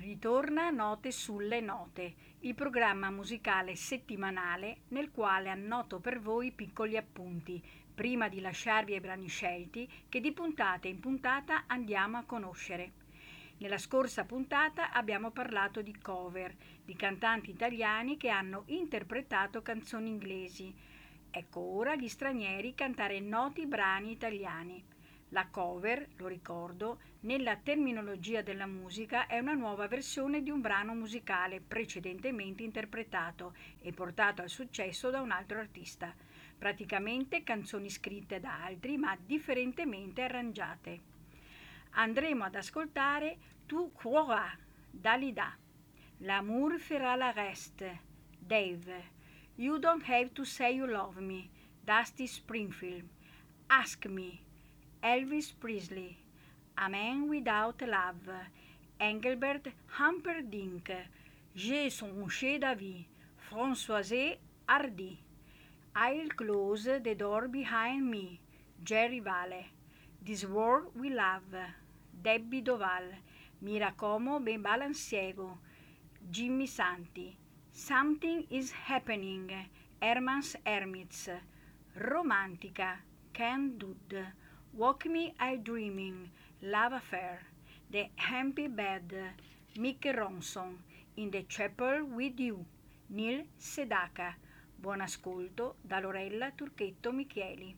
Ritorna Note sulle Note, il programma musicale settimanale nel quale annoto per voi piccoli appunti, prima di lasciarvi ai brani scelti che di puntata in puntata andiamo a conoscere. Nella scorsa puntata abbiamo parlato di cover, di cantanti italiani che hanno interpretato canzoni inglesi. Ecco ora gli stranieri cantare noti brani italiani. La cover, lo ricordo, nella terminologia della musica è una nuova versione di un brano musicale precedentemente interpretato e portato al successo da un altro artista. Praticamente canzoni scritte da altri ma differentemente arrangiate. Andremo ad ascoltare Tu croiras, Dalida, L'amour fera la reste, Dave, You don't have to say you love me, Dusty Springfield, Ask Me, Elvis Presley, A Man Without Love, Engelbert Humperdinck, J'ai songé d'avis, Françoise Hardy, I'll close the door behind me, Jerry Vale, This World We Love, Debbie Doval, Mira como ben balanciego, Jimmy Santi, Something is Happening, Herman's Hermits, Romantica, Ken Dudd, Walk Me I Dreaming, Love Affair, The Happy Bed, Mick Ronson, In the Chapel with You, Neil Sedaka. Buon ascolto da Lorella Turchetto Micheli.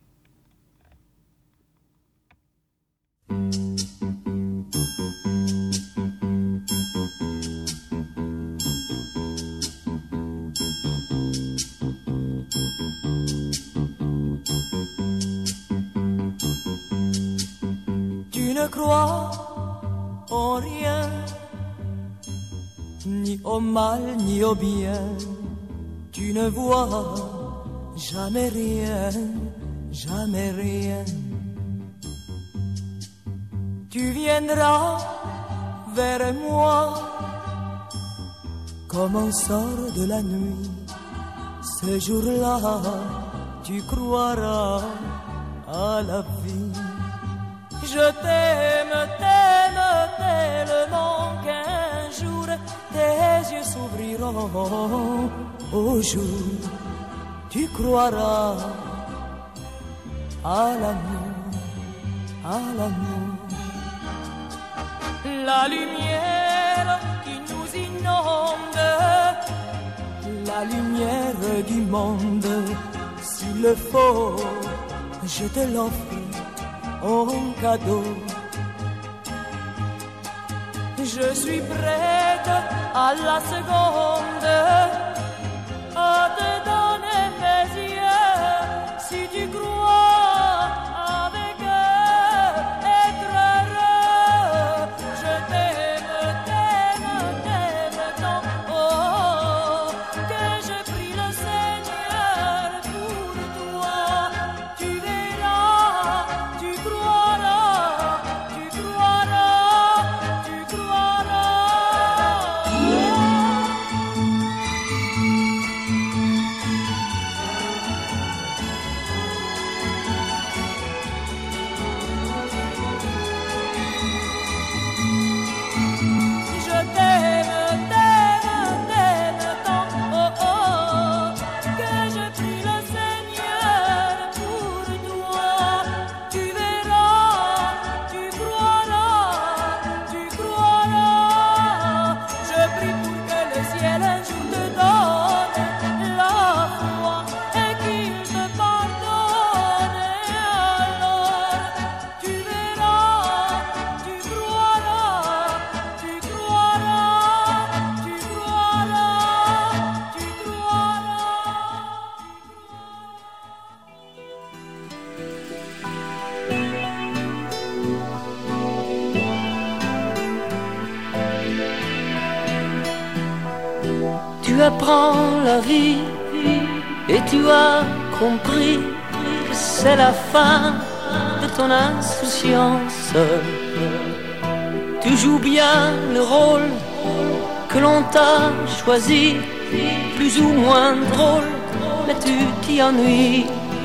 Tu ne crois en rien, ni au mal ni au bien. Tu ne vois jamais rien, jamais rien. Tu viendras vers moi comme on sort de la nuit. Ce jour-là, tu croiras à la vie. Je t'aime, t'aime tellement qu'un jour tes yeux s'ouvriront. Au jour, tu croiras à l'amour, à l'amour. La lumière qui nous inonde, la lumière du monde, s'il le faut, je te l'offre en cadeau. Je suis prête à la seconde à te donner mes yeux, si tu crois avec eux être heureux. Je t'aime, t'aime, t'aime tant, oh, que je prie le Seigneur pour toi. Tu verras, tu croiras, tu croiras, tu croiras. Je t'aime, t'aime, t'aime tant, oh, oh, que je prie le Seigneur pour toi. Tu verras, tu croiras, tu croiras. Je prie pour que le ciel un jour te donne la foi et qu'il te pardonne. Et alors tu verras, tu croiras, tu croiras, tu croiras, tu croiras. Tu apprends la vie et tu as compris que c'est la fin de ton insouciance. Tu joues bien le rôle que l'on t'a choisi, plus ou moins drôle, mais tu t'y ennuies.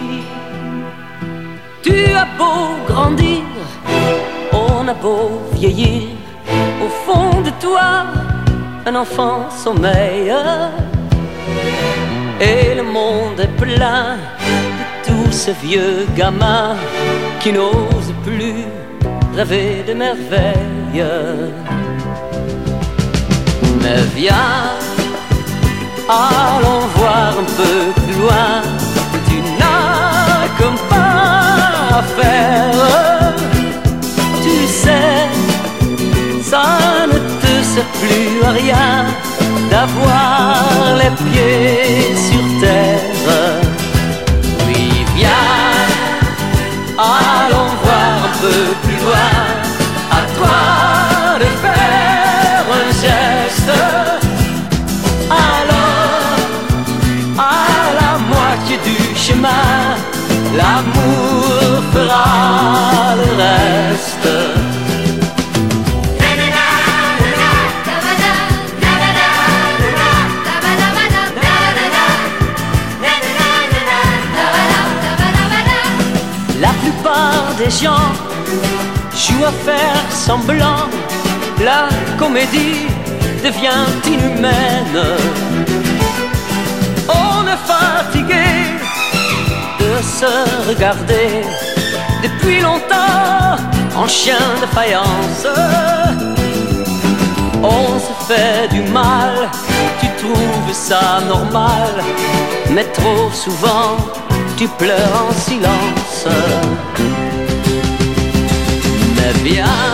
Tu as beau grandir, on a beau vieillir, au fond de toi, un enfant sommeille et le monde est plein de tous ces vieux gamins qui n'osent plus rêver de merveilles. Mais viens, allons voir un peu plus loin. Tu n'as comme pas à faire. Tu sais, ça ne te sert plus à rien d'avoir les pieds sur terre. Oui, viens, allons voir un peu plus loin. À toi de faire un geste. Alors, à la moitié du chemin, l'amour fera le reste. La plupart des gens jouent à faire semblant. La comédie devient inhumaine. On est fatigué de se regarder depuis longtemps en chien de faïence. On se fait du mal, tu trouves ça normal, mais trop souvent tu pleures en silence. Mais viens,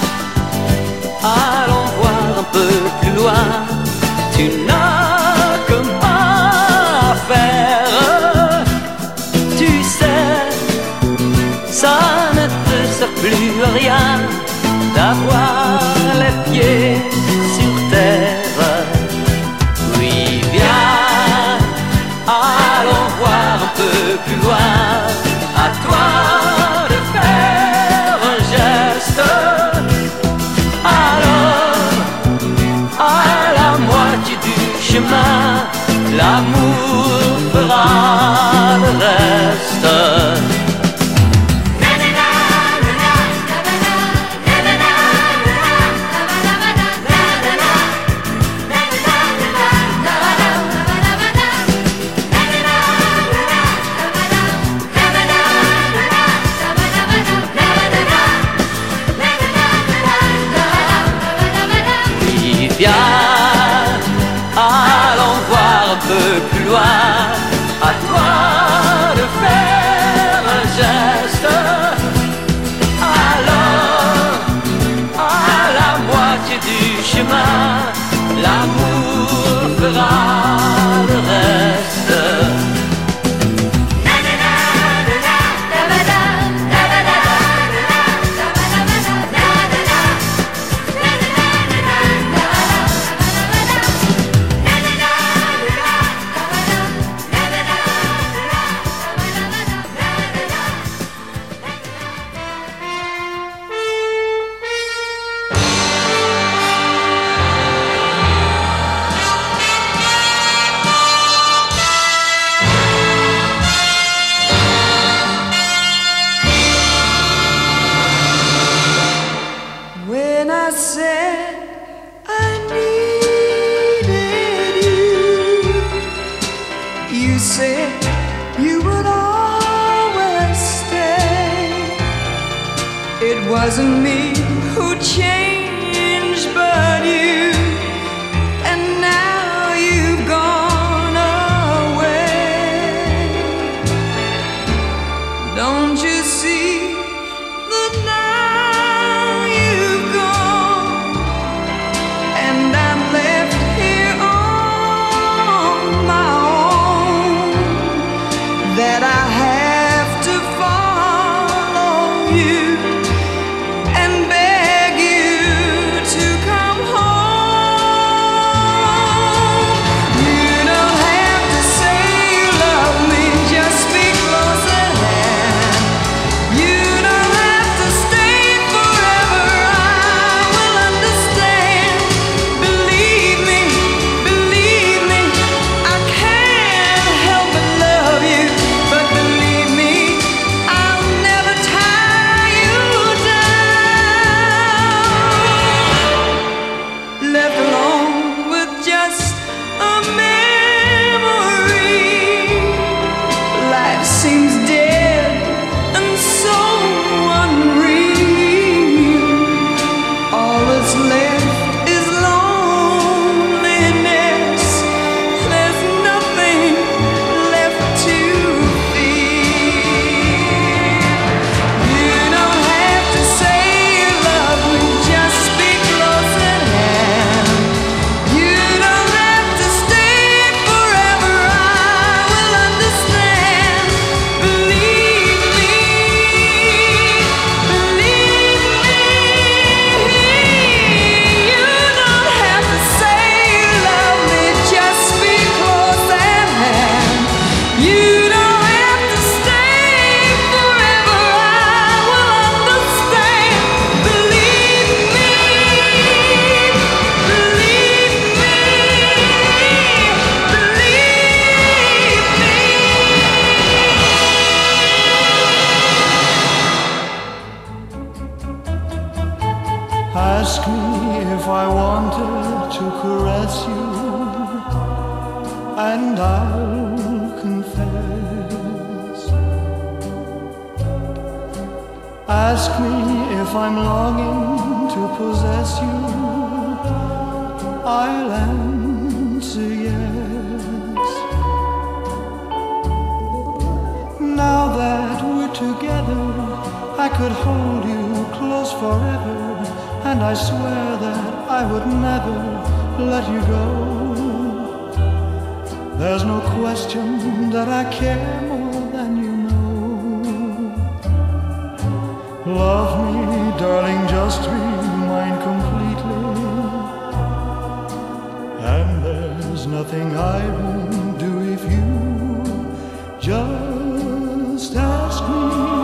allons voir un peu plus loin. Tu n'as que pas à faire. Tu sais, ça ne te sert plus à rien d'avoir les pieds sur terre. Oui, viens, allons voir un peu plus loin. À toi de faire un geste. Alors, à la moitié du chemin, l'amour fera le reste. Viens, allons voir un peu plus loin. À toi de faire un geste. Alors, à la moitié du chemin, l'amour fera le reste. Wasn't me who changed, but you, and now you've gone away. Don't you see that now you've gone, and I'm left here on my own, that I have to follow you and beg you if I wanted to caress you, and I'll confess. Ask me if I'm longing to possess you, I'll answer yes. Now that we're together, I could hold you close forever, and I swear that I would never let you go. There's no question that I care more than you know. Love me, darling, just be mine completely, and there's nothing I won't do if you just ask me.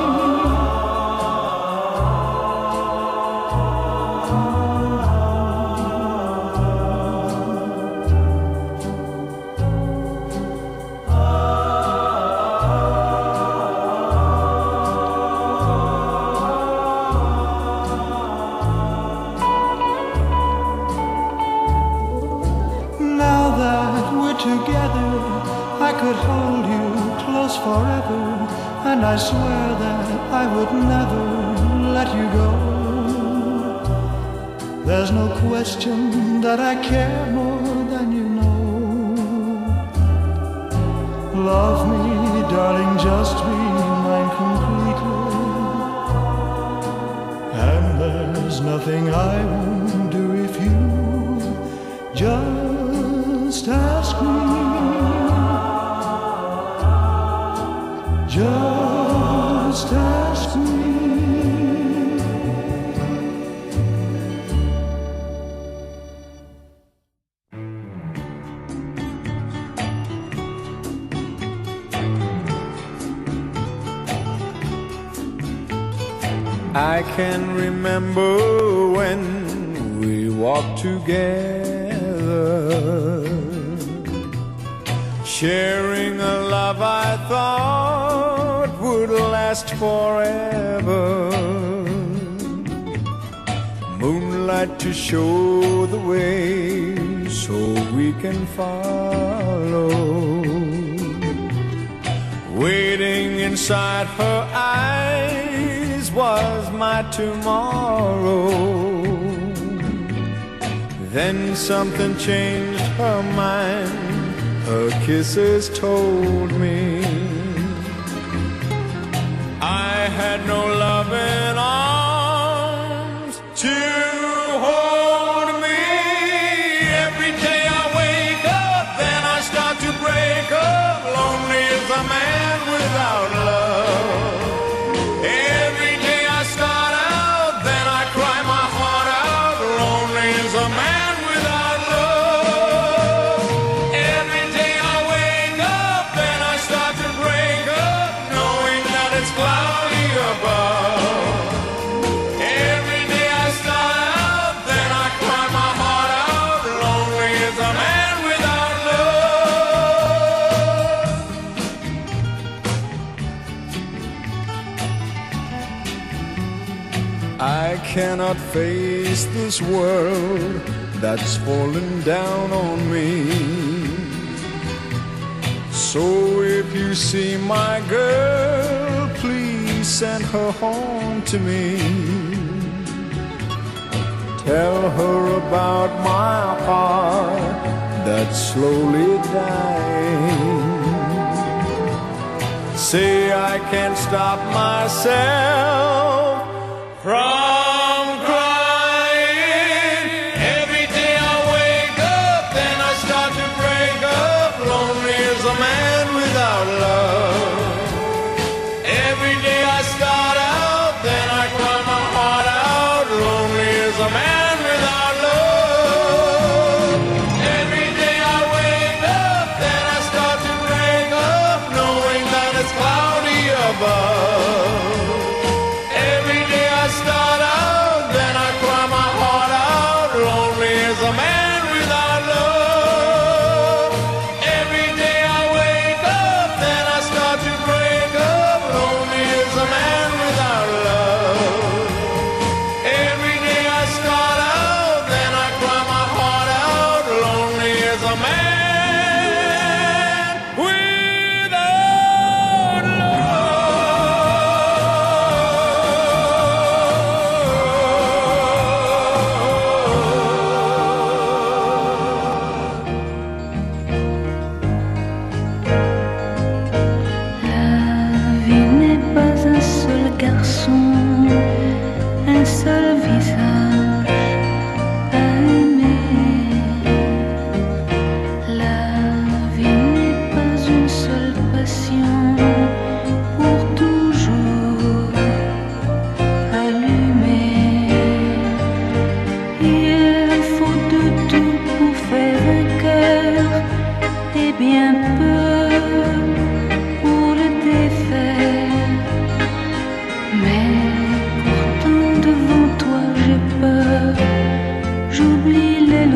Together, I could hold you close forever, and I swear that I would never let you go. There's no question that I care more than you know. Love me, darling, just be mine completely, and there's nothing I won't do if you just ask me. Just ask me. I can remember when we walked together, sharing a love I thought would last forever. Moonlight to show the way so we can follow. Waiting inside her eyes was my tomorrow. Then something changed her mind. Her kisses told me I had no loving arms to hold me. Every day I wake up, then I start to break up. Lonely as a man without love. Every day I start out, then I cry my heart out. Lonely as a man without love. Every day I wake up, then I start to break up, knowing that it's cloudy above. Every day I start out, then I cry my heart out. Lonely as a man without love. I cannot face this world that's fallen down on me. So if you see my girl, please send her home to me. Tell her about my heart that's slowly dying. Say I can't stop myself from crying. Every day I wake up, then I start to break up. Lonely as a man without love. Every day I start out, then I cry my heart out. Lonely as a man without love. Every day I wake up, then I start to break up, knowing that it's cloudy above. Every day I start out, then I cry my heart out. Lonely as a man without love. Every day I wake up, then I start to break up. Lonely as a man without love. Every day I start out,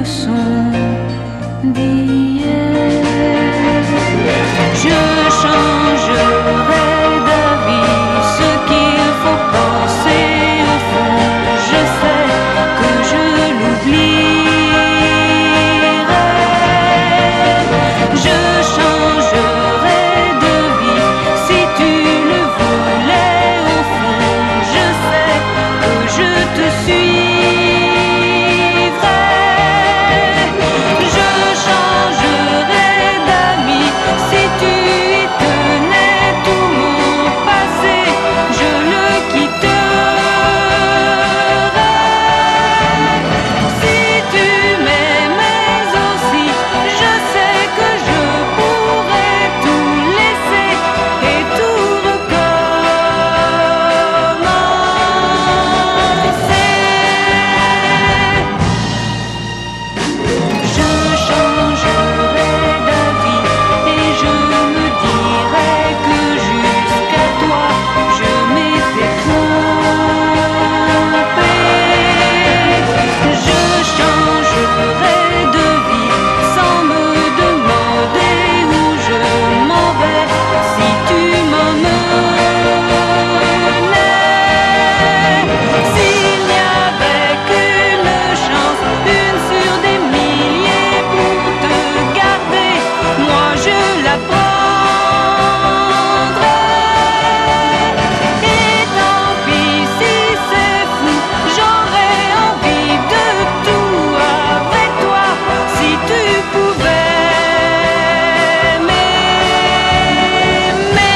sont d'hier. Je changerai d'avis, ce qu'il faut penser au fond, je sais que je l'oublierai. Je changerai de vie si tu le voulais au fond, je sais que je te suivrai. Je changerai d'amis si tu y tenais tout mon passé, je le quitterai. Si tu m'aimais aussi, je sais que je pourrais tout laisser et tout recommencer. Je changerai d'avis et je me dirai que jusqu'à toi je m'étais trompée. Je changerai de vie sans me demander où je m'en vais si tu m'emmenais. S'il n'y avait qu'une chance, une sur des milliers pour te garder, moi je la prendrais. Et tant pis si c'est fou, j'aurais envie de tout avec toi si tu pouvais m'aimer.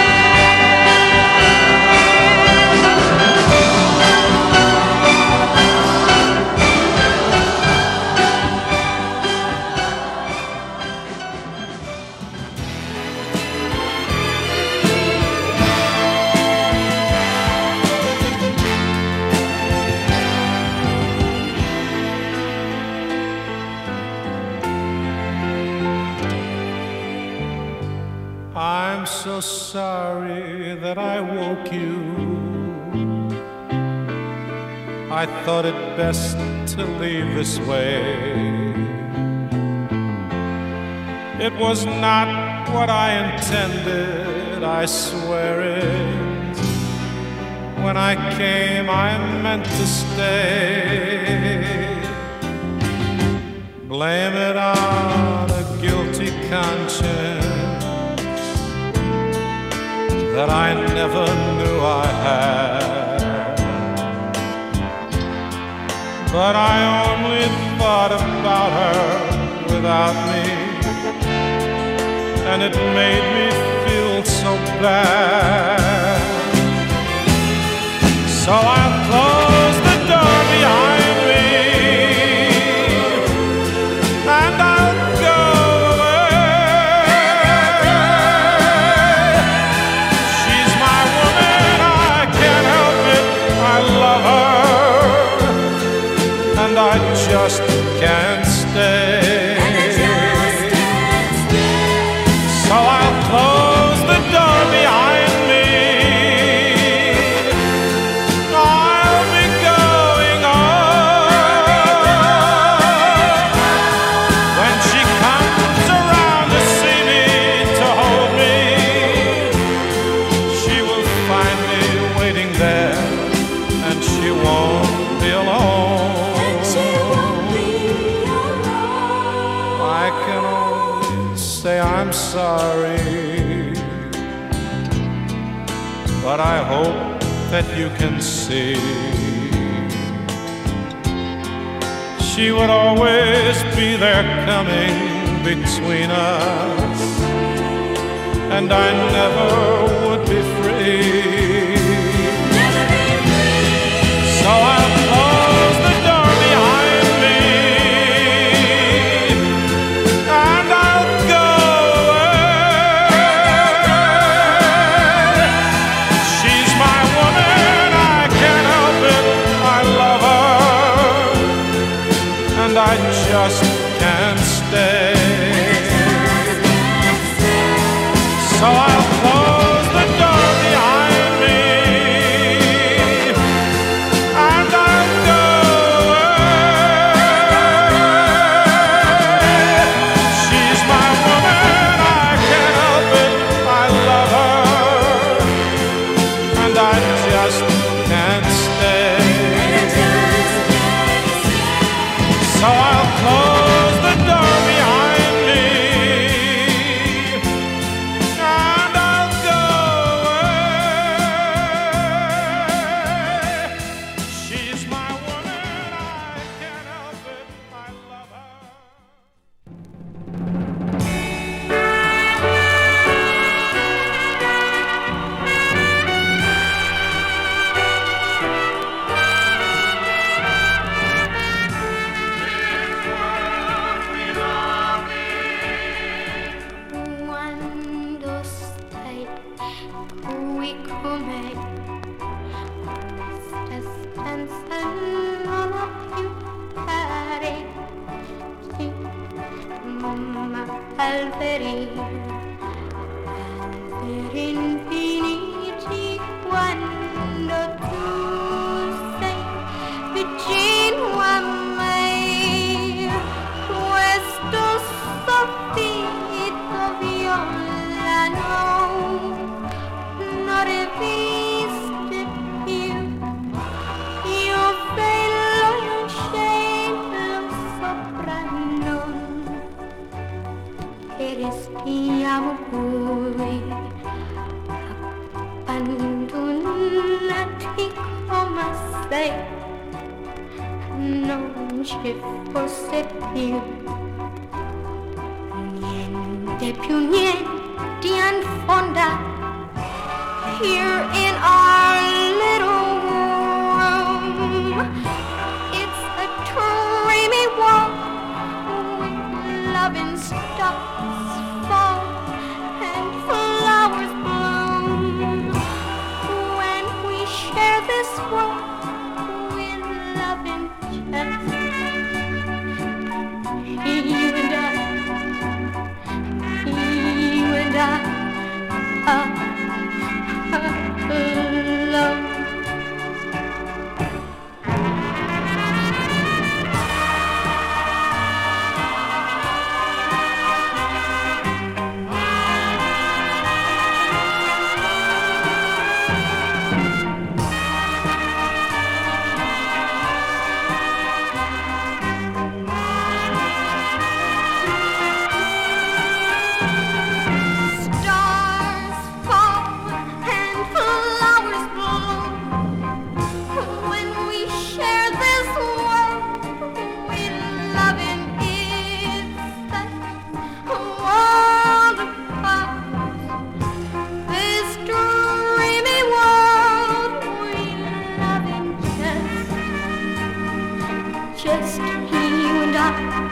I'm so sorry that I woke you. I thought it best to leave this way. It was not what I intended, I swear it. When I came, I meant to stay. Blame it on a guilty conscience that I never knew I had. But I only thought about her without me, and it made me feel so bad. So I closed the door behind me, and I'll go away. She's my woman, I can't help it, I love her, and I just can't stay. So I'll close the door behind me. I'll be going on. When she comes around to see me, to hold me, she will find me waiting there, and she won't be alone. I can only say I'm sorry, but I hope that you can see she would always be there coming between us, and I never would be free. So I'll close the door behind me, and I'll go away. She's my woman, I can't help it, I love her, and I just can't stay. So I'll close the door behind me, and I'll go away. So I'll close the door behind me and I'll go away. She's my woman, I can't help it, I love her. Quando stai qui con me, questa stanza non ha più pareti, ma alberi infiniti. Quando tu sei vicino a me, questo soffitto violano non resiste più. Io velo in un cielo sopra noi e restiamo qui abbandonati come se non ci fosse più niente affonda here in our little room. It's a dreamy world with loving stars fall and flowers bloom. When we share this world with loving just you and I. Love. Just you and I,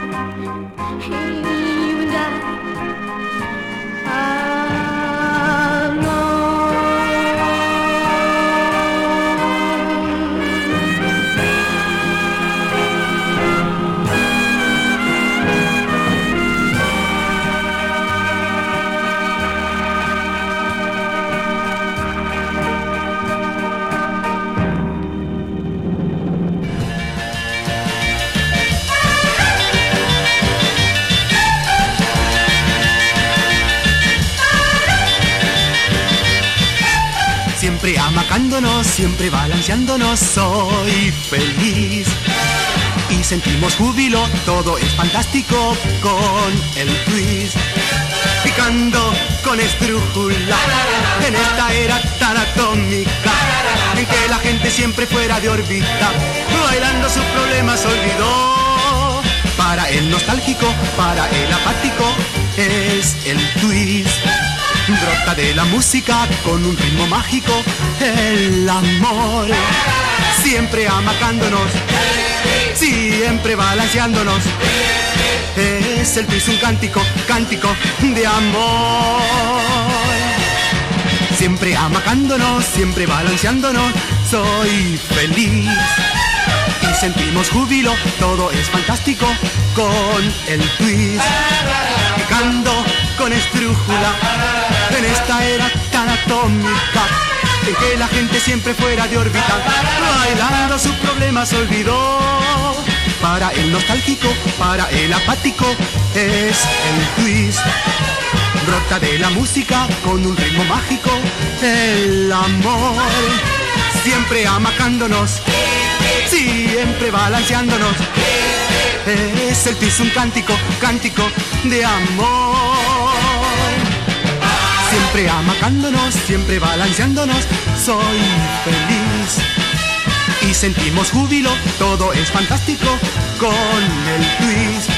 Siempre amacándonos, siempre balanceándonos, soy feliz. Y sentimos júbilo, todo es fantástico con el twist. Picando con esdrújula en esta era tan atómica, en que la gente siempre fuera de órbita, bailando sus problemas olvidó. Para el nostálgico, para el apático, es el twist. Brota de la música con un ritmo mágico, el amor. Siempre amacándonos, siempre balanceándonos. Es el twist un cántico, cántico de amor. Siempre amacándonos, siempre balanceándonos, soy feliz. Y sentimos júbilo, todo es fantástico con el twist. Picando con esdrújula en esta era tan atómica, en que la gente siempre fuera de órbita, bailando sus problemas olvidó. Para el nostálgico, para el apático, es el twist. Brota de la música con un ritmo mágico, el amor. Siempre amacándonos, siempre balanceándonos. Es el twist, un cántico, cántico de amor. Siempre amacándonos, siempre balanceándonos, soy feliz. Y sentimos júbilo, todo es fantástico con el twist.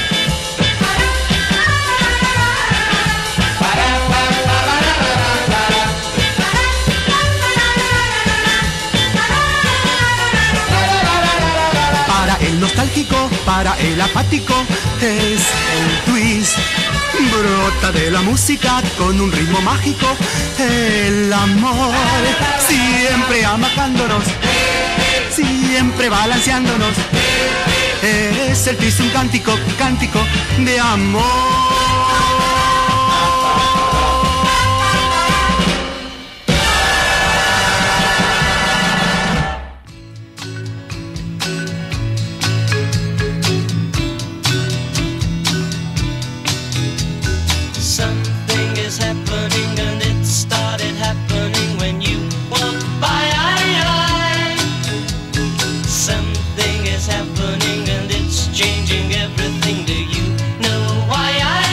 Para el nostálgico, para el apático, es el twist. Brota de la música con un ritmo mágico, el amor. Siempre amacándonos, siempre balanceándonos, es el twist, un cántico, cántico de amor. Something is happening and it started happening when you walked by. Something is happening and it's changing everything. Do you know why?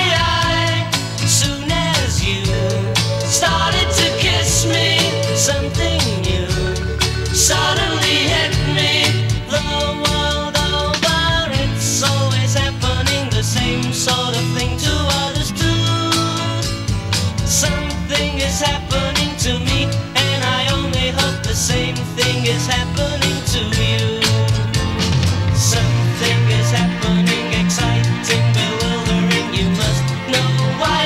Soon as you started to kiss me, something new suddenly hit me. The world over, it's always happening, the same sort of thing to others too. Something is happening to me, and I only hope the same thing is happening to you. Something is happening, exciting, bewildering, you must know why.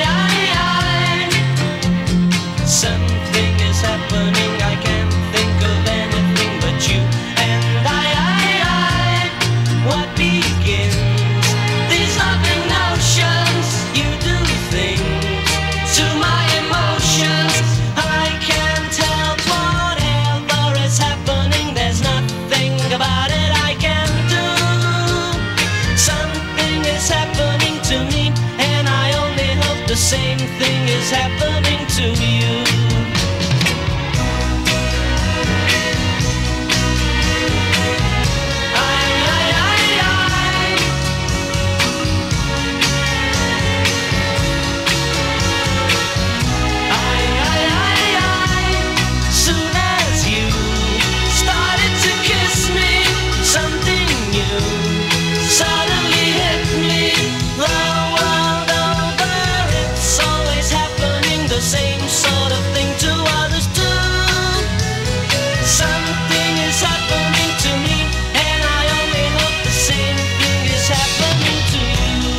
Something is happening, I can't think of anything but you and I. What begins these loving notions? You do things to my emotions. I can't help whatever is happening. There's nothing about it I can do. Something is happening to me, and I only hope the same thing is happening to you. Soon as you started to kiss me, something new suddenly hit me. The world over, it's always happening, the same sort of thing to others too. Something is happening to me, and I only hope the same thing is happening to you.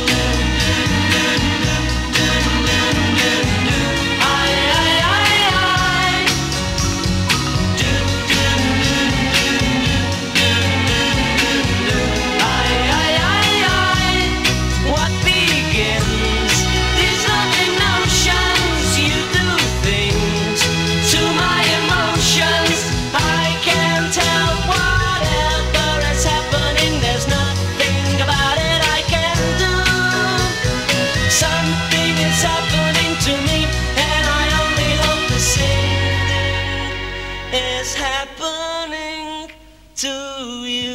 What begins these loving notions? You do things to my emotions. I can't tell whatever is happening. There's nothing about it I can do. Something is happening to me, and I only hope the same thing is happening to you.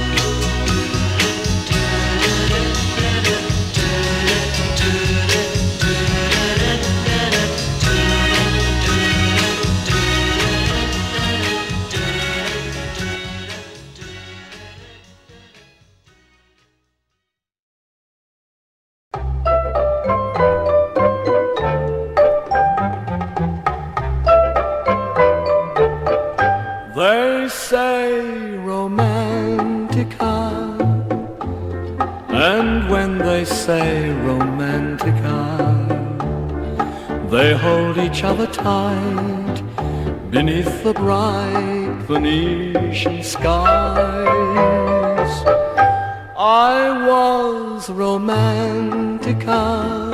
They say romantica, and when they say romantica, they hold each other tight beneath the bright Venetian skies. I was romantica,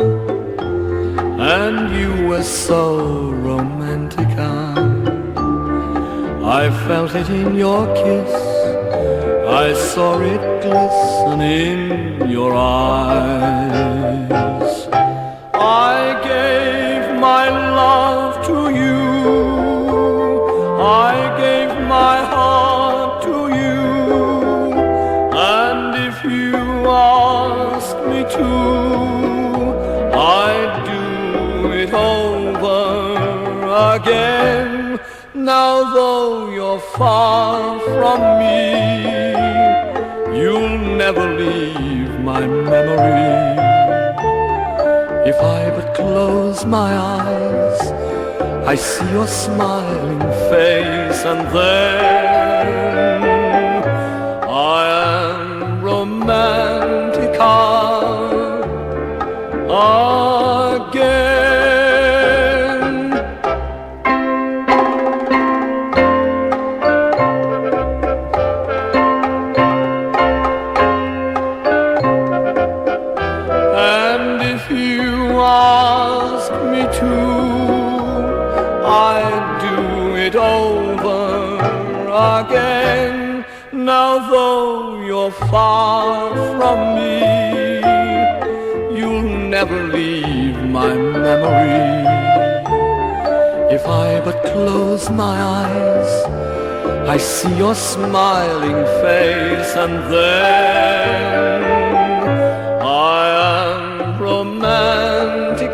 and you were so romantica. I felt it in your kiss, I saw it glisten in your eyes. I gave my love to you, I gave my heart to you, and if you are far from me, you'll never leave my memory. If I but close my eyes, I see your smiling face, and then I am romantic again. And if you ask me to, I'd do it over again. Now though you're far from me, you'll never leave my memory. If I but close my eyes, I see your smiling face, and then I am romantic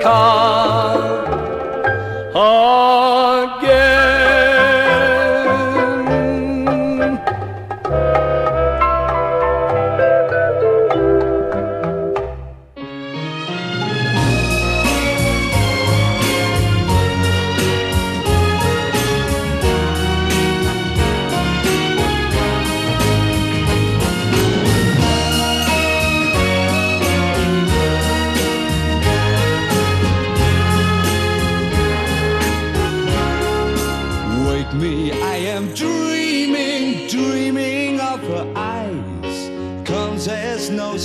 again. Me, I am dreaming, dreaming of her eyes. Comes as no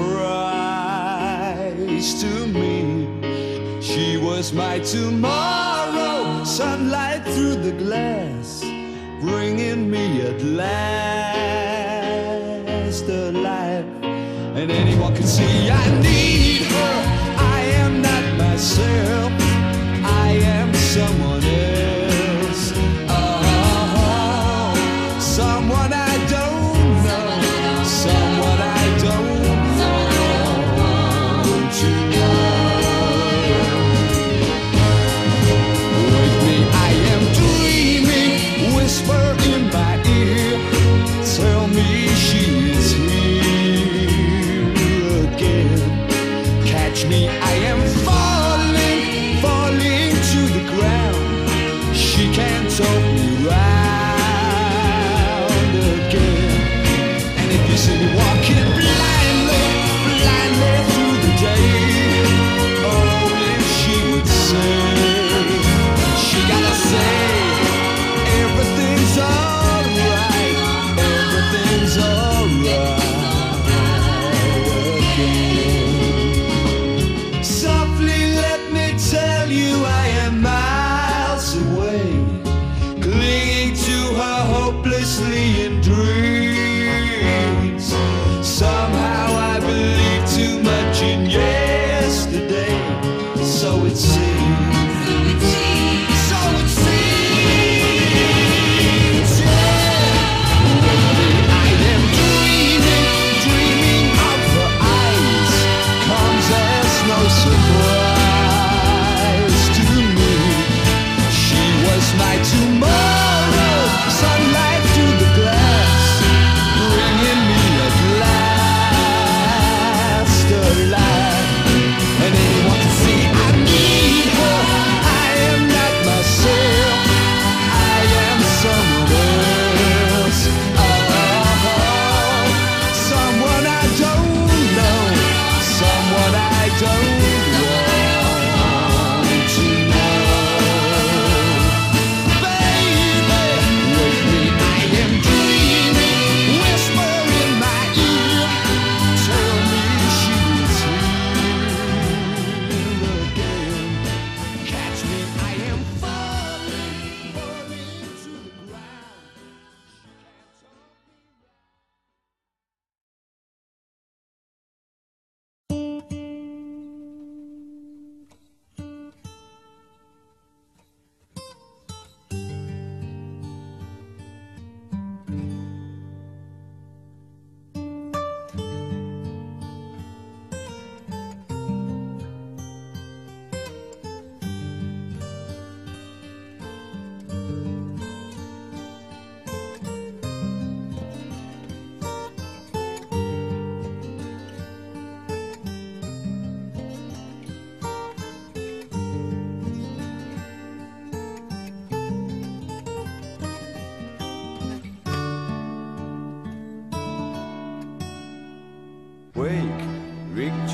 surprise to me. She was my tomorrow, sunlight through the glass, bringing me at last alive. And anyone can see I need her. I am not myself, I am someone else. Someone I don't know, someone I don't want to know. With me, I am dreaming, whisper in my ear, tell me she is here again.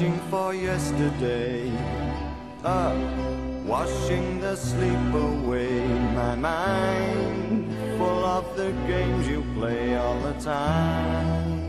wishing for yesterday, washing the sleep away. My mind full of the games you play all the time.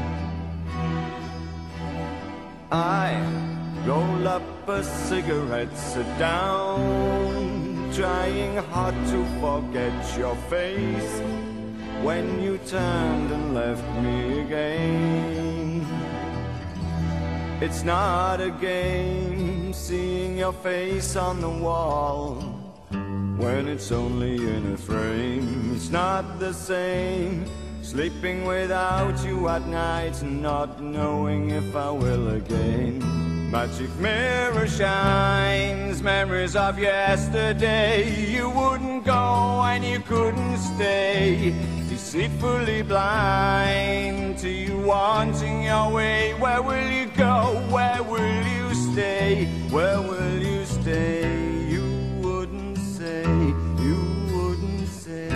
I roll up a cigarette, sit down, trying hard to forget your face when you turned and left me again. It's not a game seeing your face on the wall when it's only in a frame. It's not the same sleeping without you at night and not knowing if I will again. Magic mirror shines memories of yesterday. You wouldn't go and you couldn't stay, deceitfully blind to you wanting your way. Where will you go? Where will you stay? Where will you stay? You wouldn't say, you wouldn't say.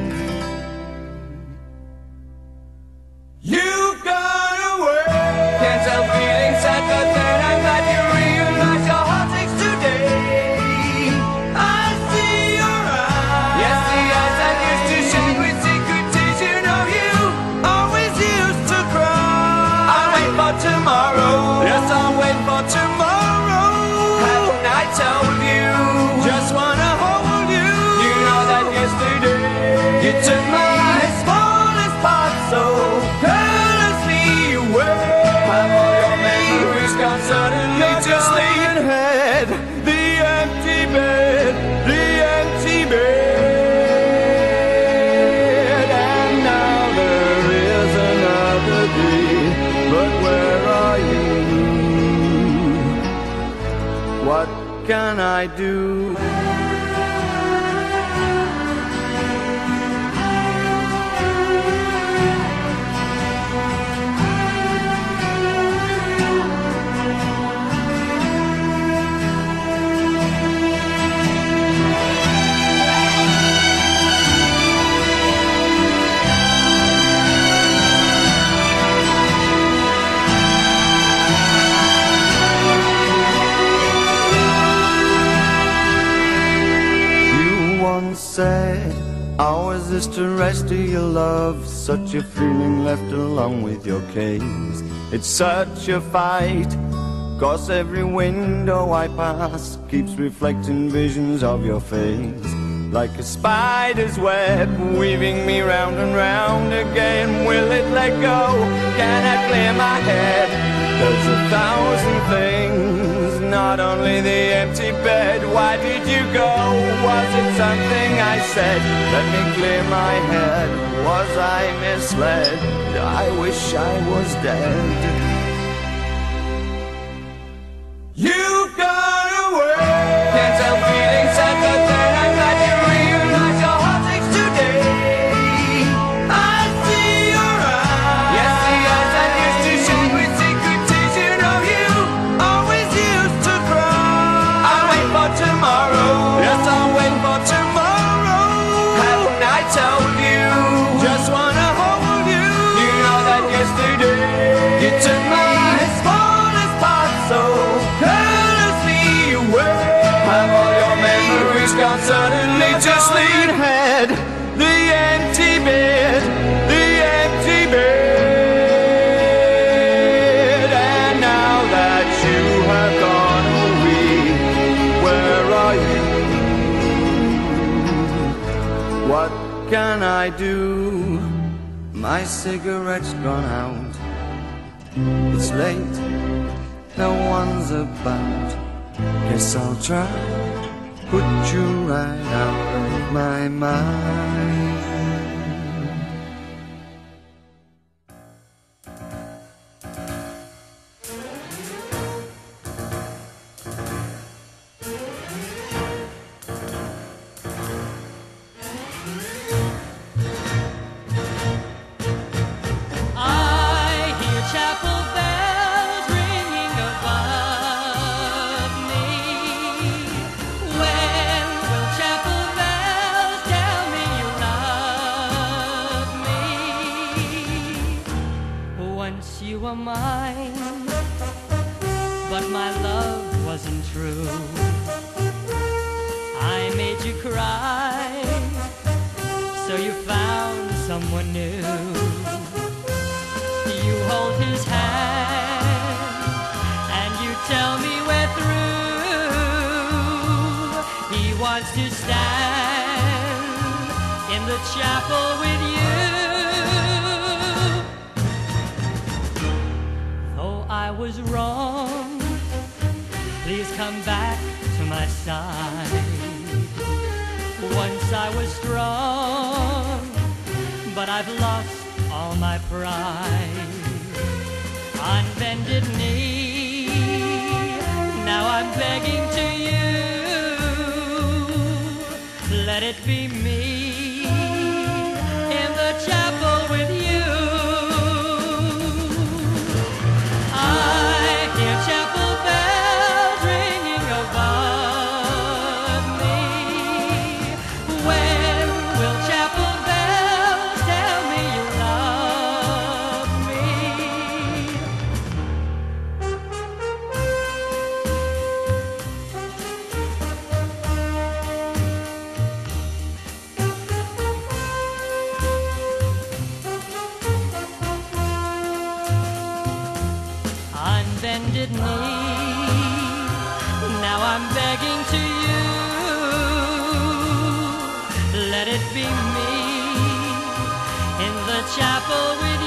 You've gone away. Can't help feeling sad, but then I'm glad you realize your heart aches today. I see your eyes. Yes, the eyes that used to shine with secret tears. You know you always used to cry. I'll wait for tomorrow. Yes, I'll wait for tomorrow. Haven't I told you? Just wanna hold you. You know that yesterday you took my smallest part so carelessly away. Have all your memories gone suddenly to sleep? Head, the empty bed, the empty bed. And now there is another day, but where are you? What can I do? Said, how is this to rest of your love? Such a feeling left along with your case. It's such a fight, 'cause every window I pass keeps reflecting visions of your face. Like a spider's web, weaving me round and round again. Will it let go? Can I clear my head? There's 1,000 things, not only the empty bed. Why did you go? Was it something I said? Let me clear my head. Was I misled? I wish I was dead. You've gone away. Can't help feeling sad, but then I'm glad you realize your heart aches today. I see your eyes. Yes, the eyes that used to shine with secret tears. You know you always used to cry. I'll wait for tomorrow. Yes, I'll wait for tomorrow. Haven't I told you? Just wanna hold you. You know that yesterday you took my smallest part so carelessly away. Have all your memories gone suddenly to sleep? Head, the empty bed, the empty bed. And now that you have gone away, where are you? What can I do? My cigarette's gone out. It's late, no one's about. Guess I'll try, put you right out of my mind. When will chapel bells tell me you'll not but my love wasn't true. I made you cry, so you found someone new. You hold his hand and you tell me we're through. He wants to stand in the chapel with you. Though I was wrong, please come back to my side. Once I was strong, but I've lost all my pride. On bended knee, now I'm begging to you, let it be me in the chapel with you. I hear chapel bells ringing above me. When will chapel bells tell me you love me? On bended knee, now I'm begging to you, let it be me in the chapel with